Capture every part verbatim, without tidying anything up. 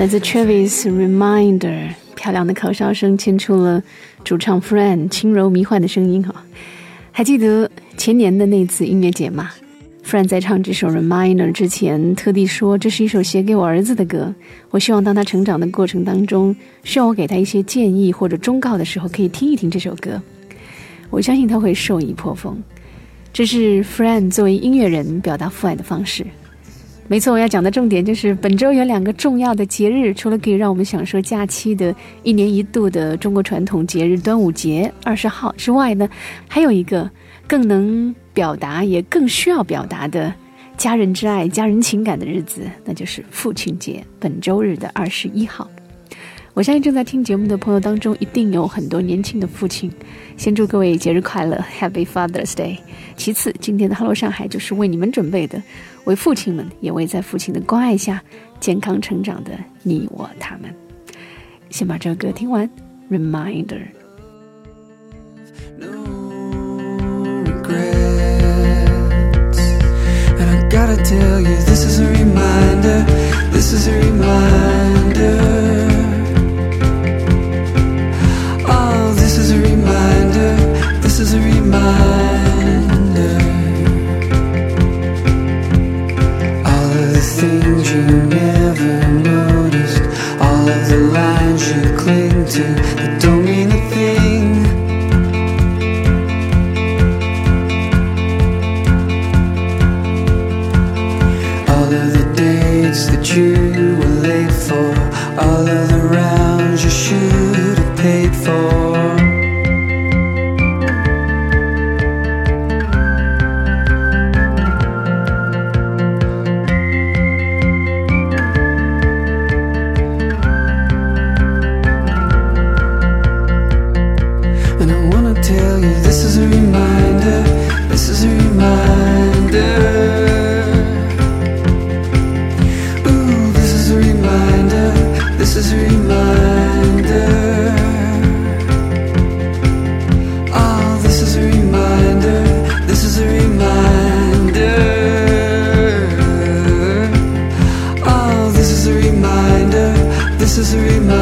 来自 Travis Reminder， 漂亮的口哨声牵出了主唱 Fran 轻柔迷幻的声音。还记得前年的那次音乐节吗？ Fran 在唱这首 Reminder 之前特地说，这是一首写给我儿子的歌，我希望当他成长的过程当中，需要我给他一些建议或者忠告的时候，可以听一听这首歌，我相信他会受益颇丰。这是 Fran 作为音乐人表达父爱的方式。没错，我要讲的重点就是本周有两个重要的节日，除了可以让我们享受假期的一年一度的中国传统节日端午节二十号之外呢，还有一个更能表达也更需要表达的家人之爱家人情感的日子，那就是父亲节，本周日的二十一号。我相信正在听节目的朋友当中一定有很多年轻的父亲，先祝各位节日快乐 Happy Father's Day。 其次，今天的 Hello 上海就是为你们准备的，为父亲们也为在父亲的关爱下健康成长的你我他们。先把这个歌听完 Reminder。 No regrets, and I gotta tell you, this is a reminder, this is a reminder.This is a reminder, this is a reminder. All of the things you never noticed, all of the lines you cling to that don't mean a thing. All of the dates that you were late for, all of the rounds you should have paid for.And I wanna tell you, this is a reminder, this is a reminder. Ooh, this is a reminder, this is a reminder. Oh, this is a reminder, this is a reminder. Oh, this is a reminder, this is a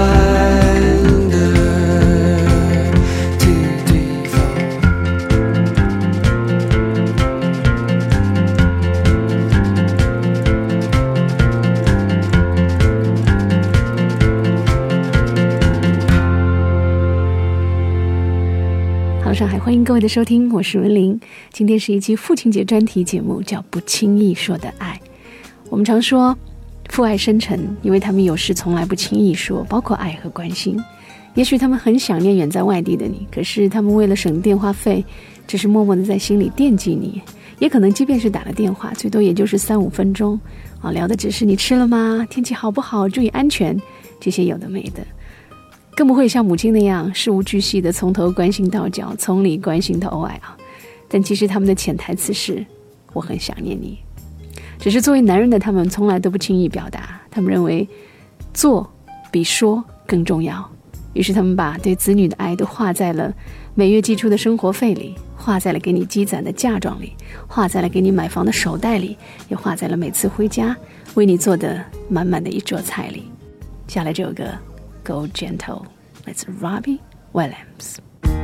reminder. 上海，欢迎各位的收听，我是文玲。今天是一期父亲节专题节目，叫不轻易说的爱。我们常说父爱深沉，因为他们有事从来不轻易说，包括爱和关心。也许他们很想念远在外地的你，可是他们为了省电话费，只是默默的在心里惦记你。也可能即便是打了电话，最多也就是三五分钟啊，聊的只是你吃了吗？天气好不好？注意安全，这些有的没的。更不会像母亲那样事无巨细的从头关心到脚，从里关心到外啊。但其实他们的潜台词是我很想念你。只是作为男人的他们从来都不轻易表达，他们认为做比说更重要，于是他们把对子女的爱都画在了每月寄出的生活费里，画在了给你积攒的嫁妆里，画在了给你买房的手袋里，也画在了每次回家为你做的满满的一桌菜里。接下来这首歌Go Gentle, it's Robbie Williams.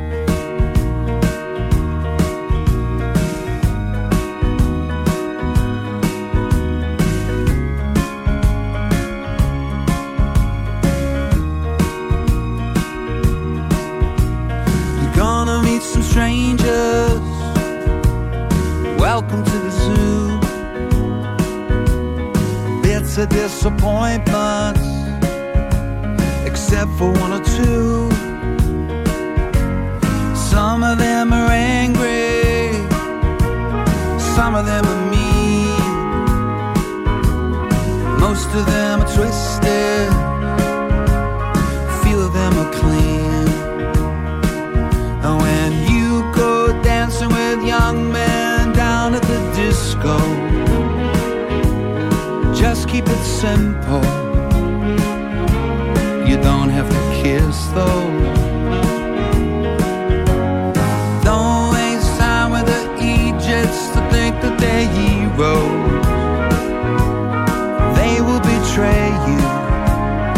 You're gonna meet some strangers. Welcome to the zoo. Bits of disappointments.Except for one or two. Some of them are angry, some of them are mean, most of them are twisted, few of them are clean. And when you go dancing with young men down at the disco, just keep it simple.You don't have to kiss though. Don't waste time with the Egypts to think that they're heroes. They will betray you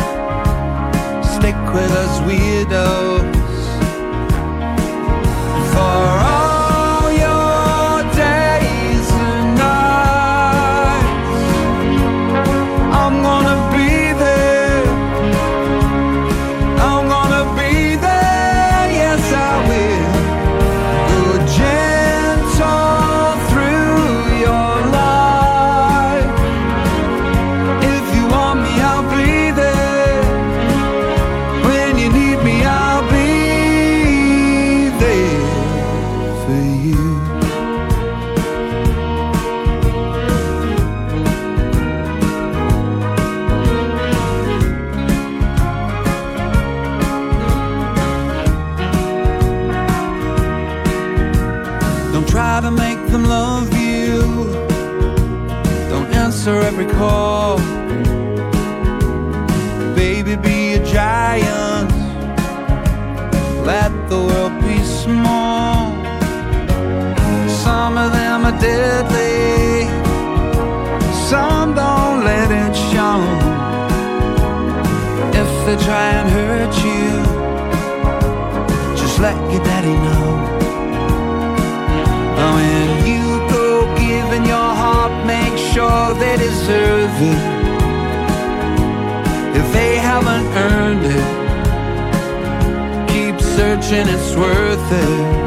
love you. Don't answer every call. Baby, be a giant. Let the world be small. Some of them are deadly. Some don't let it show. If they try and hurt you, just let your daddy know. When you go giving your heart, make sure they deserve it. If they haven't earned it, keep searching, it's worth it.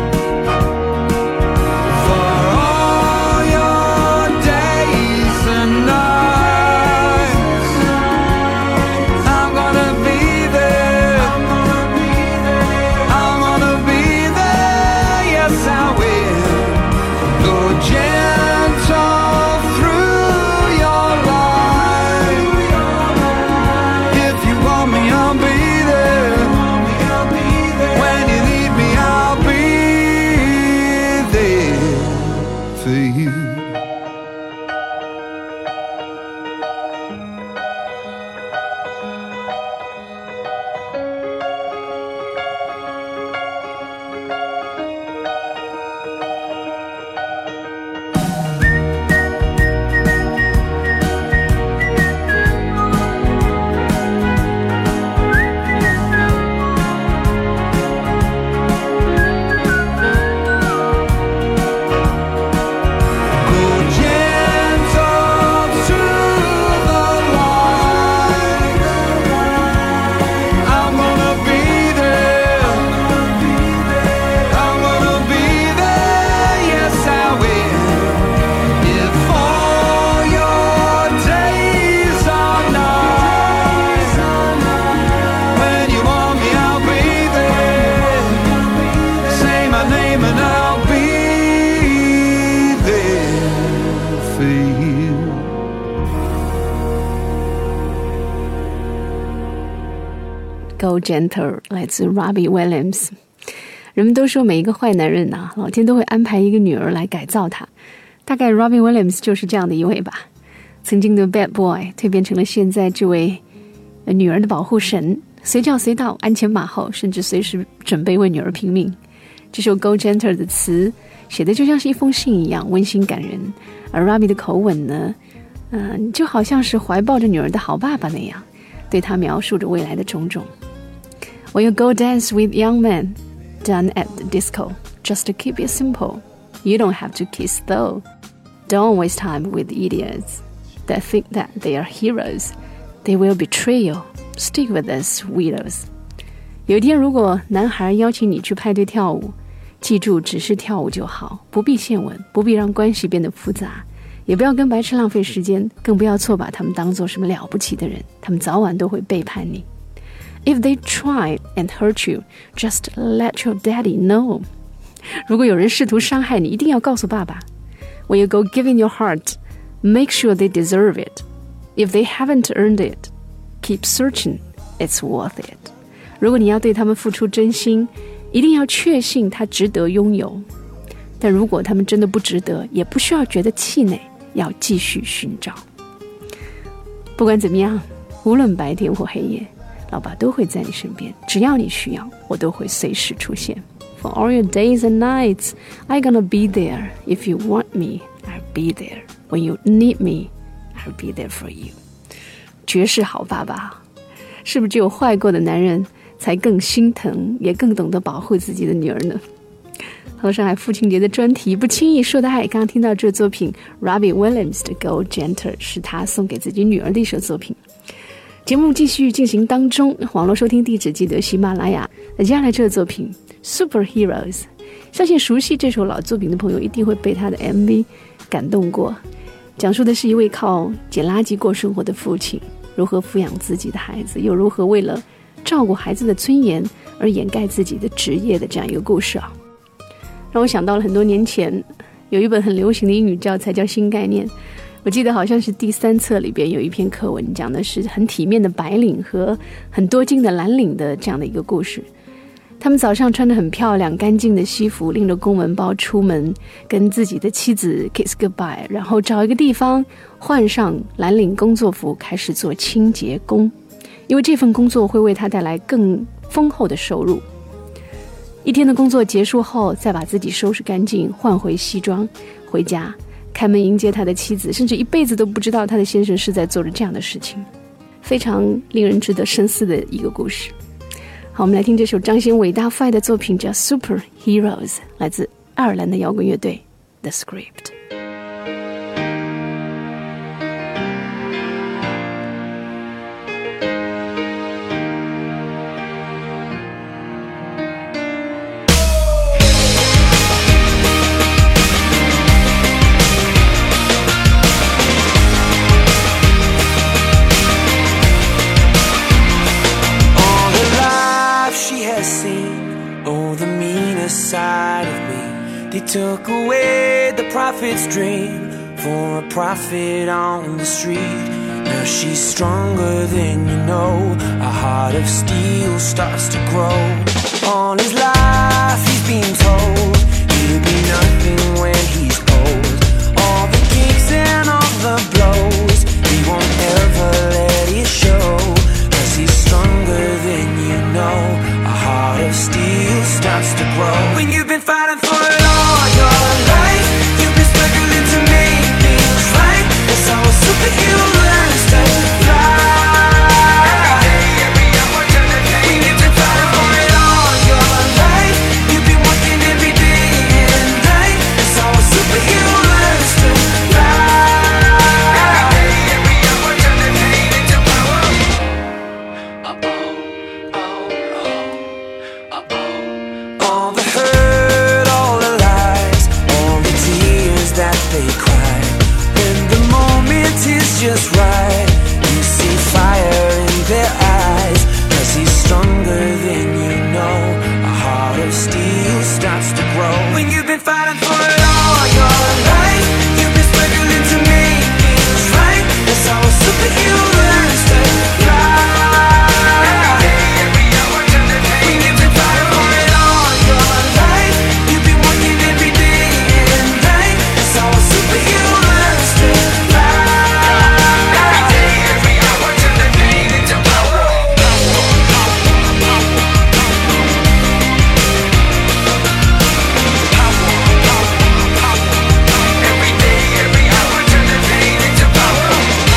Go Gentle 来自 Robbie Williams。 人们都说每一个坏男人啊，老天都会安排一个女儿来改造他，大概 Robbie Williams 就是这样的一位吧。曾经的 Bad Boy 蜕变成了现在这位女儿的保护神，随叫随到，鞍前马后，甚至随时准备为女儿拼命。这首 Go Gentle 的词写的就像是一封信一样温馨感人，而 Robbie 的口吻呢，呃，就好像是怀抱着女儿的好爸爸那样，对她描述着未来的种种。When you go dance with young men done at the disco, just to keep it simple. You don't have to kiss though. Don't waste time with idiots that think that they are heroes. They will betray you. Stick with us, widows. 有一天如果男孩邀请你去派对跳舞，记住只是跳舞就好，不必献吻，不必让关系变得复杂，也不要跟白痴浪费时间，更不要错把他们当作什么了不起的人，他们早晚都会背叛你。If they try and hurt you, just let your daddy know. 如果有人试图伤害你，一定要告诉爸爸。When you go giving your heart, make sure they deserve it. If they haven't earned it, keep searching, it's worth it. 如果你要对他们付出真心，一定要确信他值得拥有。但如果他们真的不值得，也不需要觉得气馁，要继续寻找。不管怎么样，无论白天或黑夜，老爸都会在你身边，只要你需要，我都会随时出现。For all your days and nights, I'm gonna be there. If you want me, I'll be there. When you need me, I'll be there for you. 绝世好爸爸，是不是只有坏过的男人才更心疼，也更懂得保护自己的女儿呢？好，上海父亲节的专题不轻易说的爱，刚刚听到这作品 Robbie Williams 的 Go Gentle 是他送给自己女儿的一首作品。节目继续进行当中，网络收听地址记得喜马拉雅。那接下来这个作品 Superheroes， 相信熟悉这首老作品的朋友一定会被他的 M V 感动过。讲述的是一位靠捡垃圾过生活的父亲，如何抚养自己的孩子，又如何为了照顾孩子的尊严而掩盖自己的职业的这样一个故事啊，让我想到了很多年前有一本很流行的英语教材叫新概念。我记得好像是第三册里边有一篇课文，讲的是很体面的白领和很多金的蓝领的这样的一个故事。 他们早上穿着很漂亮干净的西服，拎着公文包出门，跟自己的妻子 kiss goodbye， 然后找一个地方换上蓝领工作服，开始做清洁工，因为这份工作会为他带来更丰厚的收入。一天的工作结束后，再把自己收拾干净，换回西装，回家开门迎接他的妻子，甚至一辈子都不知道他的先生是在做着这样的事情，非常令人值得深思的一个故事。好，我们来听这首彰显伟大父爱的作品，叫 Super Heroes， 来自爱尔兰的摇滚乐队 The Script。Side of me, they took away the prophet's dream for a prophet on the street. Now she's stronger than you know, a heart of steel starts to grow. All his life he's been told he'll be nothing when he's old. All the kicks and all the blows, he won't ever let it show, 'cause he's stronger than you know, a heart of steel starts to grow. When you've been fighting for it all your life, you've been struggling to make things right. That's how a superhero learns to fly. When you've been fighting for it all your life, you've been working every day and night. That's how a superhero learns to fly. All the hurt, all the lies, all the tears that they cry, when the moment is just right, you see fire in their eyes, 'cause he's stronger than you know, a heart of steel starts to grow. When you've been fighting for it all your life, you've been struggling to make things right. That's how a superhero learns to fly. When you've been fighting for it all your life, you've been working every day and night. That's how a superhero learns to fly. Every day, every hour, turn the pain into power. Every day, every hour, turn the pain into power.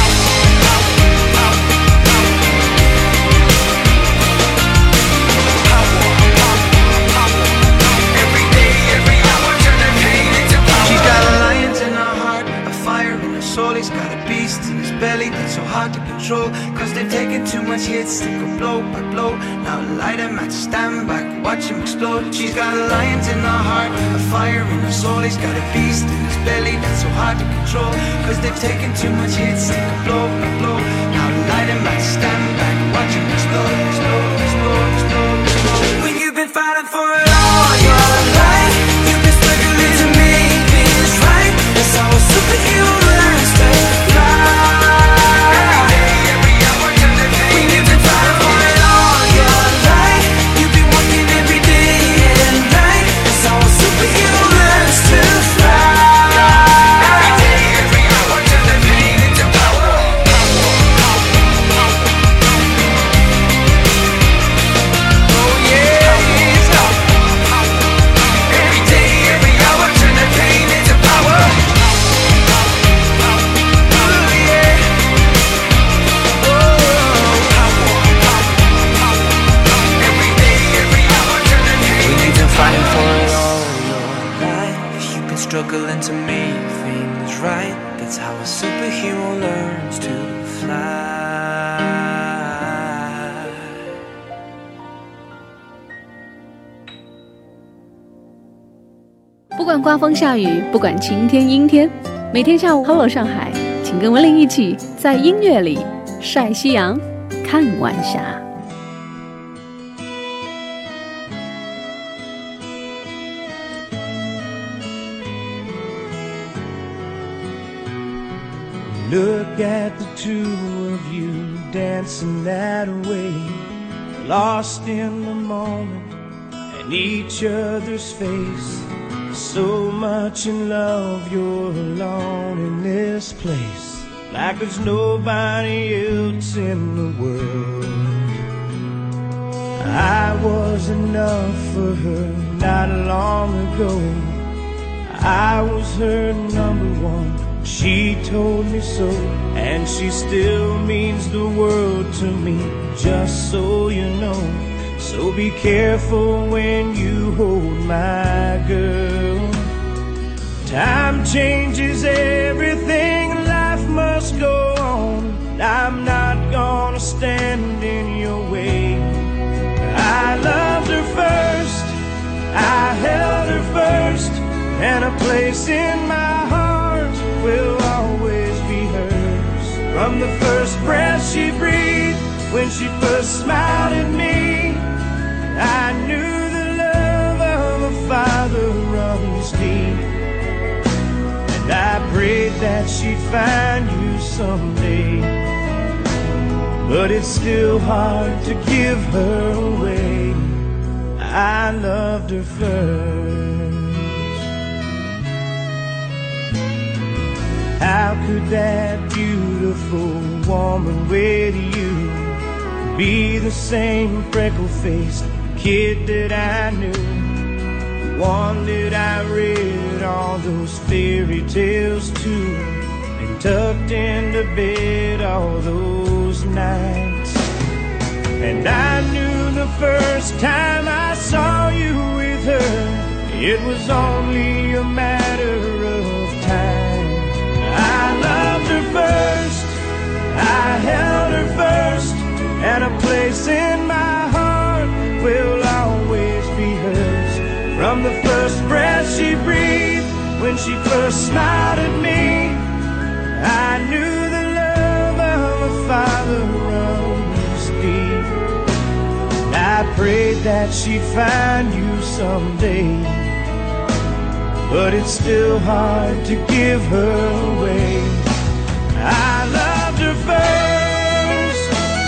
Every day, every hour, turn the pain into power. She's got a lion in her heart, a fire in her soul. He's got a beast in his belly that's so hard to control, 'cause they've taken too much hits, they go blow by blow. Now light him at stand back, watch him explode. She's got a lion in her heart, a fire in her soul. He's got a beast in his belly that's so hard to control, 'cause they've taken too much hits, they go blow by blow. Now light him at stand back, watch him explode, explode, explode, explode, explode. When you've been fighting for it all your life, you've been struggling to make things right. That's how a superhero learns to fly. When you've been fighting for it all your life, you've been working every day and night. That's how a superhero learns to fly. Every day, every hour, turn the pain into power. Oh yeah. Every day, every hour, turn the pain into power. Oh yeah. Every day, every hour, turn the pain When you've into been fighting power. for it all your life, you've been struggling to make things right. That's how a superhero learns to fly. 不管刮风下雨，不管晴天阴天，每天下午 Hello 上海，请跟文玲一起在音乐里晒夕阳，看晚霞。 Look at the two of you dancing that way, lost in the moment, in each other's face. So much in love, you're alone in this place, like there's nobody else in the world. I was enough for her not long ago. I was her number one, she told me so, and she still means the world to me, just so you know. So be careful when you hold my girl. Time changes everything, life must go on. I'm not gonna stand in your way. I loved her first, I held her first, and a place in my heart will always be hers. From the first breath she breathed, when she first smiled at me, I knew the love of a father runs deep. And I prayed that she'd find you someday, but it's still hard to give her away. I loved her first. How could that beautiful woman with you be the same freckle-faced kid that I knew, one that I read all those fairy tales to, and tucked into bed all those nights? And I knew the first time I saw you with her, it was only a matter of time. I loved her first, I held her first, and a place in my heart will always be hers. From the first breath she breathed, when she first smiled at me, I knew the love of a father runs deep. I prayed that she'd find you someday, but it's still hard to give her away. I loved her first.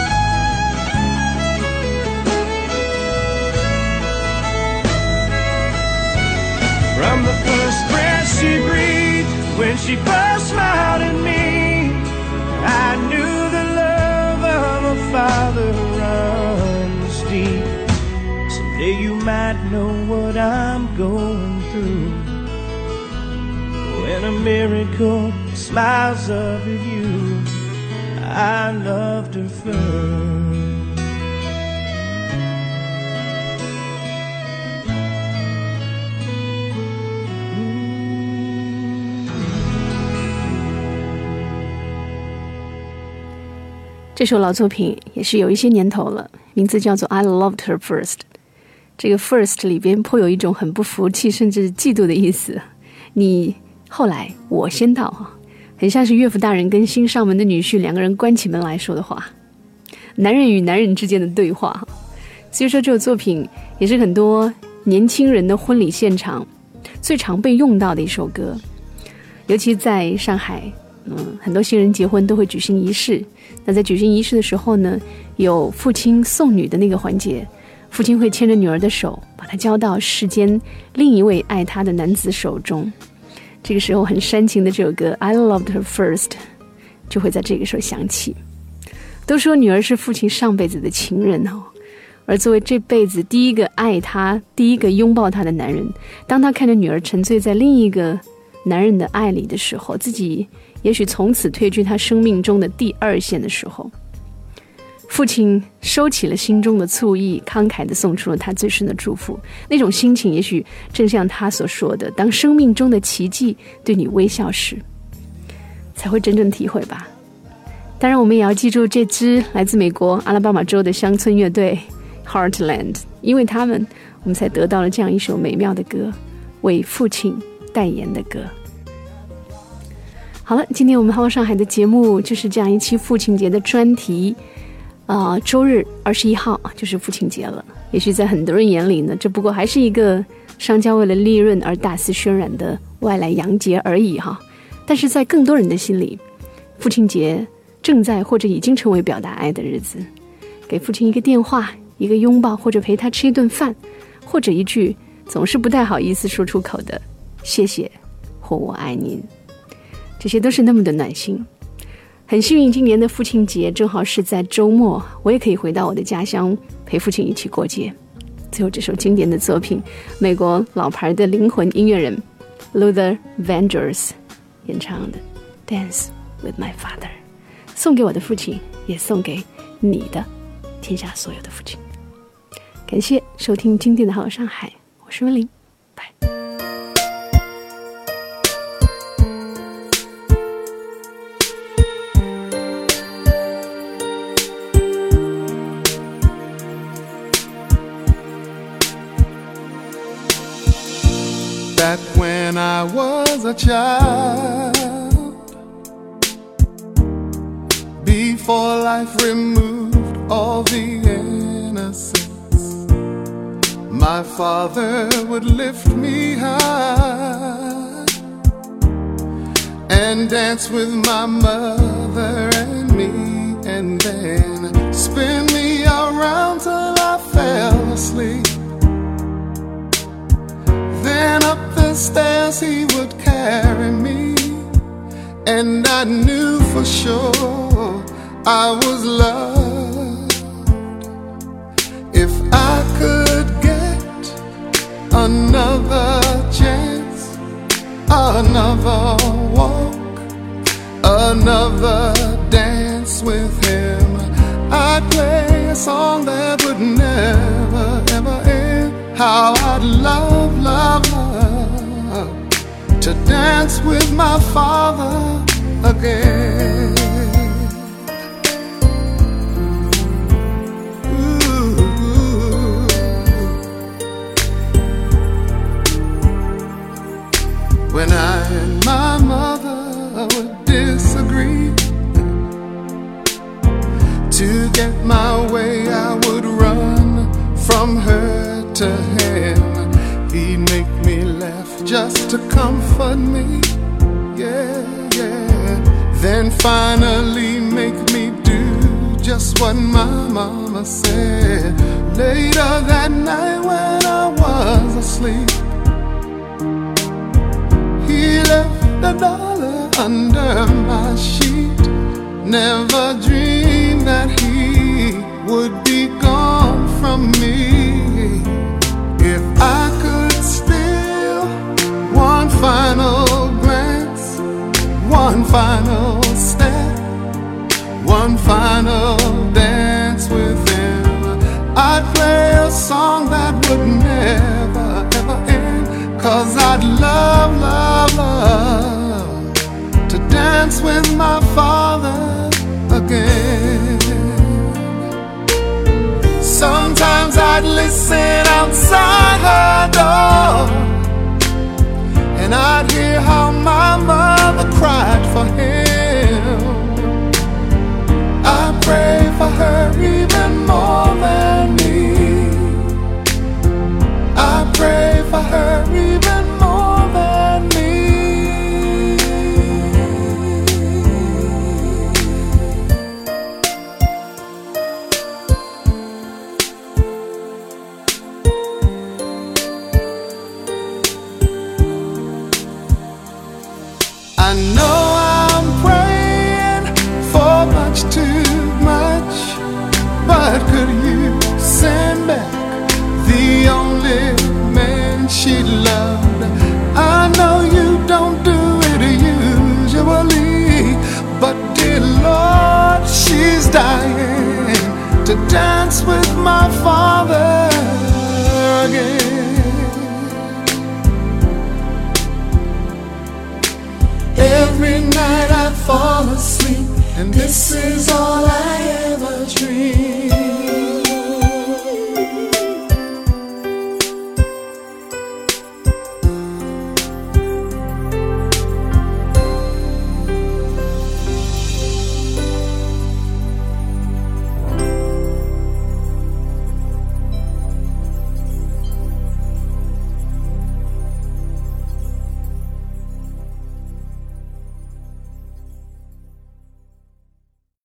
From the first breath she breathed, when she first smiled at me, I knew the love of a father runs deep. Someday you might know what I'm going through, when a miracle smiles up at you. I loved her first. 这首老作品也是有一些年头了，名字叫做 I Loved Her First。 这个 first 里边颇有一种很不服气甚至嫉妒的意思，你后来我先到，很像是岳父大人跟新上门的女婿两个人关起门来说的话，男人与男人之间的对话。所以说这首作品也是很多年轻人的婚礼现场最常被用到的一首歌，尤其在上海，嗯，很多新人结婚都会举行仪式。那在举行仪式的时候呢，有父亲送女的那个环节，父亲会牵着女儿的手，把她交到世间另一位爱她的男子手中。这个时候很煽情的这首歌 I Loved Her First 就会在这个时候响起。都说女儿是父亲上辈子的情人哦，而作为这辈子第一个爱她、第一个拥抱她的男人，当他看着女儿沉醉在另一个男人的爱里的时候，自己也许从此退居他生命中的第二线的时候，父亲收起了心中的醋意，慷慨地送出了他最深的祝福。那种心情也许正像他所说的，当生命中的奇迹对你微笑时，才会真正体会吧。当然我们也要记住这支来自美国阿拉巴马州的乡村乐队 Heartland， 因为他们我们才得到了这样一首美妙的歌，为父亲代言的歌。好了，今天我们浩上海的节目就是这样一期父亲节的专题。呃，周日二十一号就是父亲节了。也许在很多人眼里呢，这不过还是一个商家为了利润而大肆渲染的外来洋节而已哈。但是在更多人的心里，父亲节正在或者已经成为表达爱的日子。给父亲一个电话，一个拥抱，或者陪他吃一顿饭， 或者一句总是不太好意思说出口的谢谢或我爱您，这些都是那么的暖心。很幸运今年的父亲节正好是在周末，我也可以回到我的家乡陪父亲一起过节。最后这首经典的作品，美国老牌的灵魂音乐人 Luther Vandross 演唱的 Dance with my father， 送给我的父亲，也送给你的天下所有的父亲。感谢收听今天的好上海，我是温玲，拜。 Back when I was a child, before life removed all the innocence, my father would lift me high and dance with my mother and me, and then spin me around till I fell asleep. Then up the stairs he would carry me, and I knew for sure I was loved. If I could get another chance, another walk, another dance with him, I'd play a song that would never ever end. How I'd love, love, love to dance with my father again. Ooh. When I and my mother would disagree, to get my way I would run from her to him. He'd make me laugh just to comfort me, yeah, yeah. Then finally make me do just what my mama said. Later that night when I was asleep, he left a dollar under my sheet. Never dreamed that he would be gone from me. If I could steal one final glance, one final step, one final dance with him, I'd play a song that would never ever end. Cause I'd love, love, love to dance with my father again. Sometimes I'd listen outside her door, and I'd hear how my mother cried for him. I pray for her even more than me. I pray for her even more than me. I know I'm praying for much too much, but could you send back the only man she loved? I know you don't do it usually, but dear Lord, she's dying to dance with my father again. Every night I fall asleep, and this is all I ever dream.